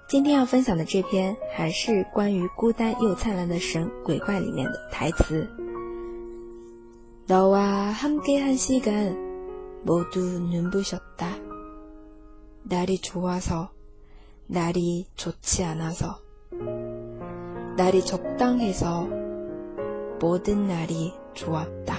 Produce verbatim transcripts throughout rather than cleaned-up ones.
今天要分享的这篇还是关于孤单又灿烂的神鬼怪里面的台词。너와 함께한 시간 모두 눈부셨다. 날이 좋아서, 날이 좋지 않아서, 날이 적당해서 모든 날이 좋았다.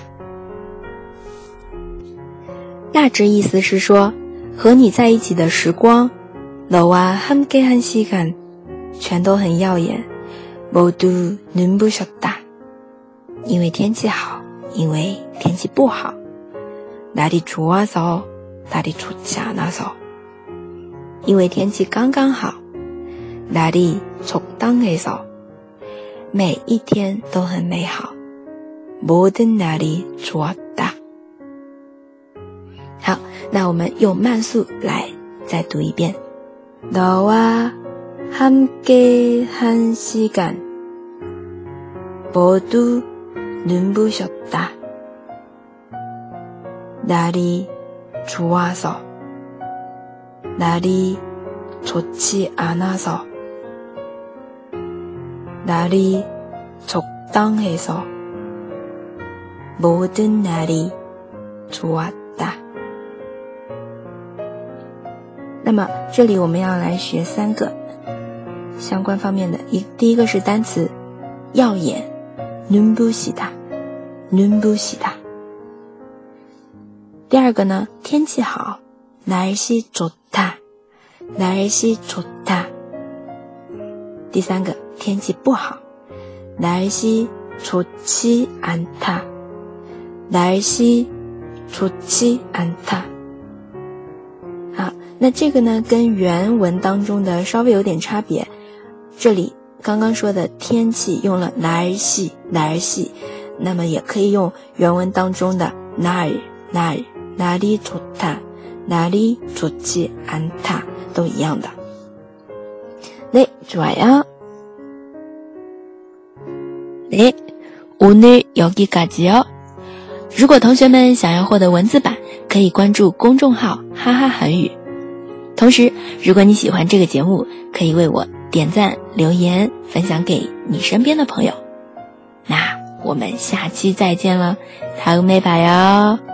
大致意思是说，和你在一起的时光너와 함께한 시간全都很耀眼， 모두 눈부셨다 因为天气好，因为天气不好， 날이 좋아서, 날이 좋지 않아서 因为天气刚刚好， 날이 적당해서 每一天都很美好， 모든 날이 좋았다。 好，那我们用慢速来再读一遍。너와 함께한 시간 모두 눈부셨다. 날이 좋아서, 날이 좋지 않아서, 날이 적당해서 모든 날이 좋았다。那么这里我们要来学三个相关方面的，一第一个是单词耀眼 눈부시다 눈부시다。 第二个呢天气好 날씨 좋다 날씨 좋다。 第三个天气不好 날씨 좋지 않다 날씨 좋지 않다。 好，那这个呢跟原文当中的稍微有点差别，这里刚刚说的天气用了날씨 날씨， 那么也可以用原文当中的날 날 날이 좋다 날이 좋지 않다都一样的。네 좋아요。 네 오늘 여기까지요。 如果同学们想要获得文字版，可以关注公众号哈哈韩语。同时如果你喜欢这个节目，可以为我点赞留言分享给你身边的朋友。那我们下期再见了，다음에 봐요。